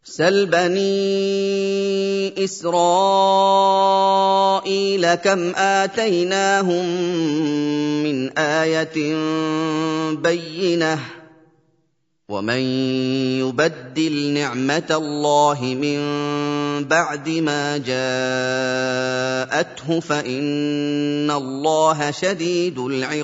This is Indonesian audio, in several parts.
سل بني إسرائيل كم آتيناهم من آية بينة ومن يبدل نعمة الله من بعد ما جاءته فإن الله شديد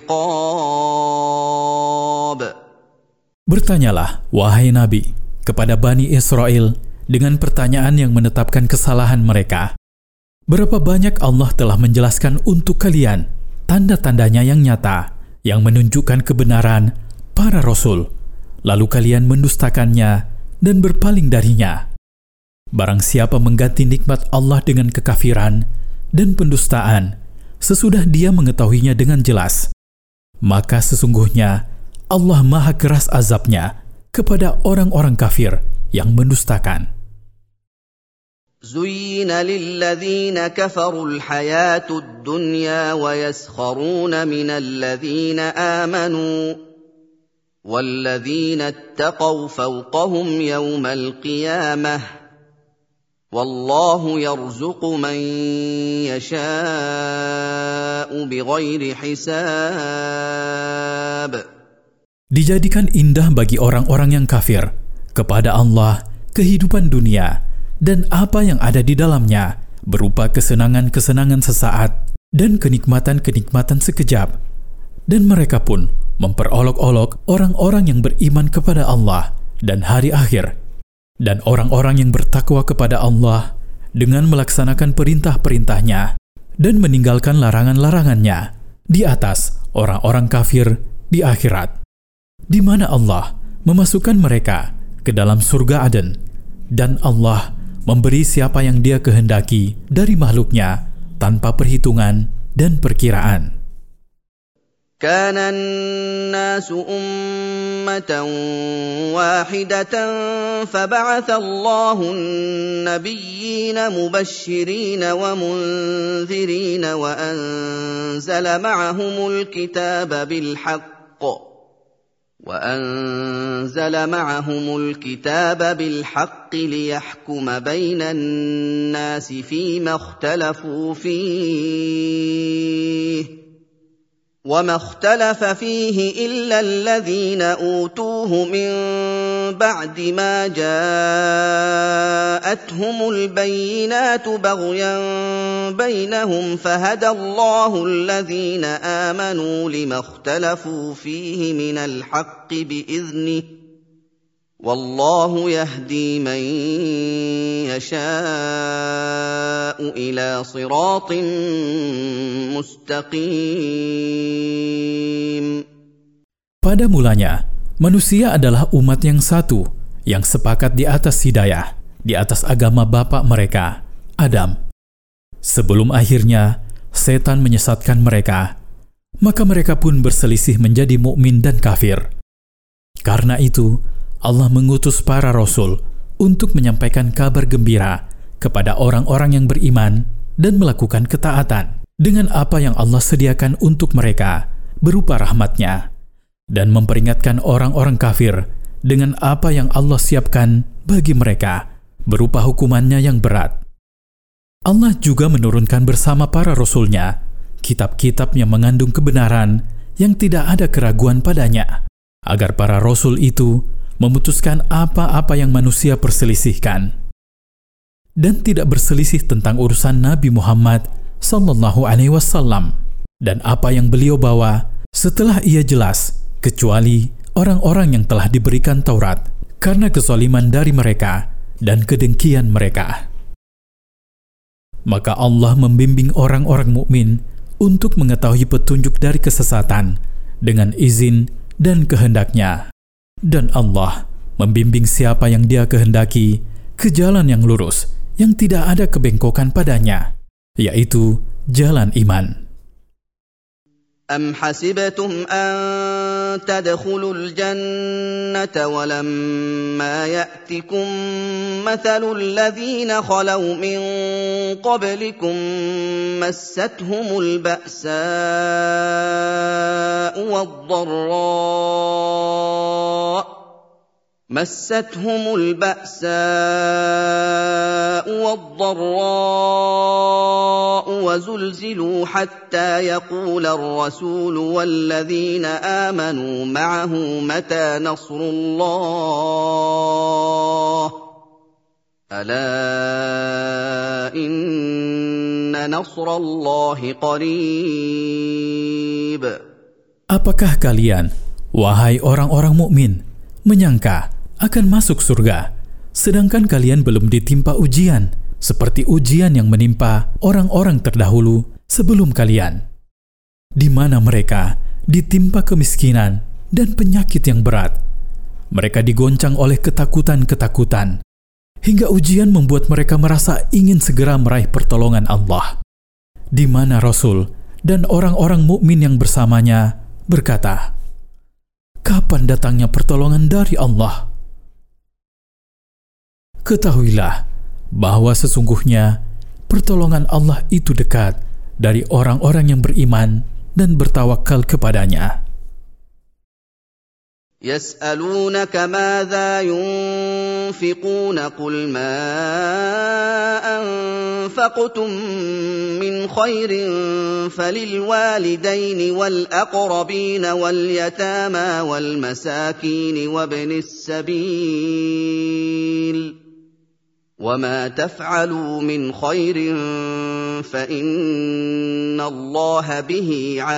العقاب. Bertanyalah, wahai Nabi, kepada Bani Israel dengan pertanyaan yang menetapkan kesalahan mereka. Berapa banyak Allah telah menjelaskan untuk kalian tanda-tandanya yang nyata, yang menunjukkan kebenaran para Rasul, lalu kalian mendustakannya dan berpaling darinya. Barang siapa mengganti nikmat Allah dengan kekafiran dan pendustaan, sesudah dia mengetahuinya dengan jelas, maka sesungguhnya Allah maha keras azabnya kepada orang-orang kafir yang mendustakan. زين للذين كفروا الحياة الدنيا ويسخرون من الذين آمنوا والذين اتقوا فوقهم يوم القيامة والله يرزق من يشاء بغير حساب. Dijadikan indah bagi orang-orang yang kafir kepada Allah kehidupan dunia dan apa yang ada di dalamnya berupa kesenangan-kesenangan sesaat dan kenikmatan-kenikmatan sekejap. Dan mereka pun memperolok-olok orang-orang yang beriman kepada Allah dan hari akhir, dan orang-orang yang bertakwa kepada Allah dengan melaksanakan perintah-perintahnya dan meninggalkan larangan-larangannya di atas orang-orang kafir di akhirat, di mana Allah memasukkan mereka ke dalam surga Aden, dan Allah memberi siapa yang Dia kehendaki dari makhluknya tanpa perhitungan dan perkiraan. كان الناس أمة واحدة فبعث الله النبيين مبشرين ومنذرين وأنزل معهم الكتاب بالحق ليحكم بين الناس فيما اختلفوا فيه وما اختلف فيه إلا الذين أوتوه من بعد ما جاءتهم البينات بغيا بينهم فهدى الله الذين آمنوا لما اختلفوا فيه من الحق بإذنه والله يهدي من يشاء إلى صراط مستقيم. Pada mulanya, manusia adalah umat yang satu, yang sepakat di atas hidayah, di atas agama bapa mereka, Adam. Sebelum akhirnya setan menyesatkan mereka, maka mereka pun berselisih menjadi mukmin dan kafir. Karena itu, Allah mengutus para rasul untuk menyampaikan kabar gembira kepada orang-orang yang beriman dan melakukan ketaatan dengan apa yang Allah sediakan untuk mereka berupa rahmat-Nya, dan memperingatkan orang-orang kafir dengan apa yang Allah siapkan bagi mereka berupa hukumannya yang berat. Allah juga menurunkan bersama para rasul-Nya kitab-kitab yang mengandung kebenaran yang tidak ada keraguan padanya, agar para rasul itu memutuskan apa-apa yang manusia perselisihkan, dan tidak berselisih tentang urusan Nabi Muhammad SAW dan apa yang beliau bawa setelah ia jelas, kecuali orang-orang yang telah diberikan Taurat karena kezaliman dari mereka dan kedengkian mereka. Maka Allah membimbing orang-orang mukmin untuk mengetahui petunjuk dari kesesatan dengan izin dan kehendak-Nya. Dan Allah membimbing siapa yang Dia kehendaki ke jalan yang lurus, yang tidak ada kebengkokan padanya, yaitu jalan iman. أم حسبتم أن تدخلوا الجنة ولما يأتكم مثل الذين خلوا من قبلكم مستهم البأساء والضراء مستهم البأساء والضراء وزلزلوا حتى يقول الرسول والذين آمنوا معه متى نصر الله ألا إن نصر الله قريب. Apakah kalian, wahai orang-orang mukmin, menyangka akan masuk surga, sedangkan kalian belum ditimpa ujian, seperti ujian yang menimpa orang-orang terdahulu sebelum kalian, di mana mereka ditimpa kemiskinan dan penyakit yang berat. Mereka digoncang oleh ketakutan-ketakutan, hingga ujian membuat mereka merasa ingin segera meraih pertolongan Allah, di mana Rasul dan orang-orang mukmin yang bersamanya berkata, "Kapan datangnya pertolongan dari Allah?" Ketahuilah bahwa sesungguhnya pertolongan Allah itu dekat dari orang-orang yang beriman dan bertawakal kepadanya. يسألونك ماذا ينفقون قل ما أنفقتم من خير فللوالدين والأقربين واليتامى والمساكين وابن السبيل وما تفعلوا من خير فإن الله به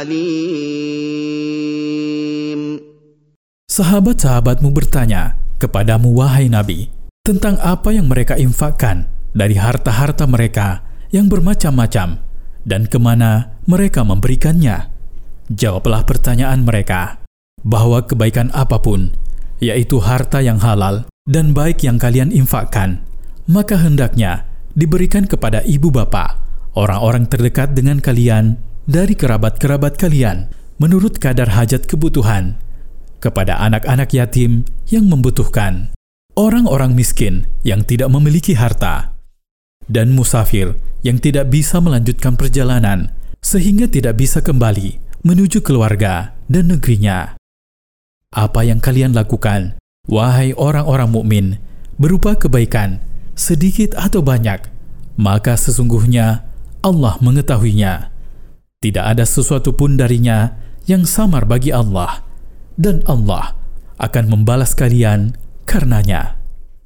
عليم. Sahabat-sahabatmu bertanya kepadamu, wahai Nabi, tentang apa yang mereka infakkan dari harta-harta mereka yang bermacam-macam dan kemana mereka memberikannya. Jawablah pertanyaan mereka bahwa kebaikan apapun, yaitu harta yang halal dan baik yang kalian infakkan, maka hendaknya diberikan kepada ibu bapa, orang-orang terdekat dengan kalian dari kerabat-kerabat kalian, menurut kadar hajat kebutuhan, kepada anak-anak yatim yang membutuhkan, orang-orang miskin yang tidak memiliki harta, dan musafir yang tidak bisa melanjutkan perjalanan sehingga tidak bisa kembali menuju keluarga dan negerinya. Apa yang kalian lakukan, wahai orang-orang mukmin, berupa kebaikan, sedikit atau banyak, maka sesungguhnya Allah mengetahuinya. Tidak ada sesuatu pun darinya yang samar bagi Allah, dan Allah akan membalas kalian karenanya.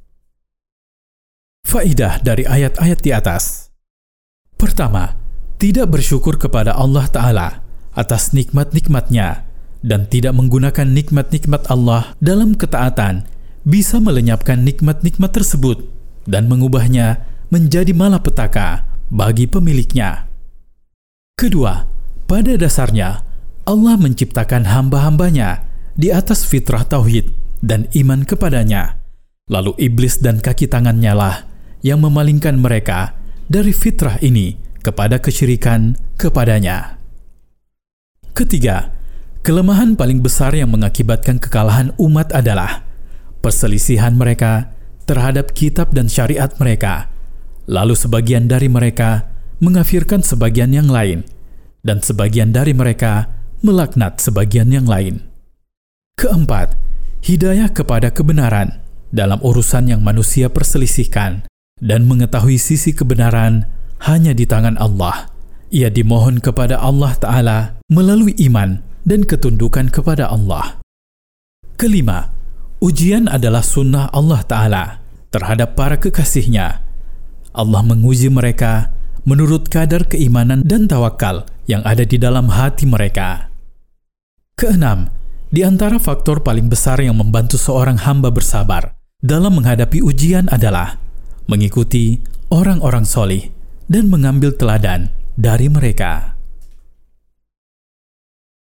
Faidah dari ayat-ayat di atas. Pertama, tidak bersyukur kepada Allah Ta'ala atas nikmat-nikmatnya dan tidak menggunakan nikmat-nikmat Allah dalam ketaatan bisa melenyapkan nikmat-nikmat tersebut dan mengubahnya menjadi malapetaka bagi pemiliknya. Kedua, pada dasarnya Allah menciptakan hamba-hambanya di atas fitrah tauhid dan iman kepadanya. Lalu iblis dan kaki tangannya lah yang memalingkan mereka dari fitrah ini kepada kesyirikan kepadanya. Ketiga, kelemahan paling besar yang mengakibatkan kekalahan umat adalah perselisihan mereka terhadap kitab dan syariat mereka. Lalu sebagian dari mereka mengafirkan sebagian yang lain, dan sebagian dari mereka melaknat sebagian yang lain. Keempat, hidayah kepada kebenaran dalam urusan yang manusia perselisihkan dan mengetahui sisi kebenaran hanya di tangan Allah. Ia dimohon kepada Allah Ta'ala melalui iman dan ketundukan kepada Allah. Kelima, ujian adalah sunnah Allah Ta'ala terhadap para kekasihnya. Allah menguji mereka menurut kadar keimanan dan tawakal yang ada di dalam hati mereka. Keenam, di antara faktor paling besar yang membantu seorang hamba bersabar dalam menghadapi ujian adalah mengikuti orang-orang solih dan mengambil teladan dari mereka.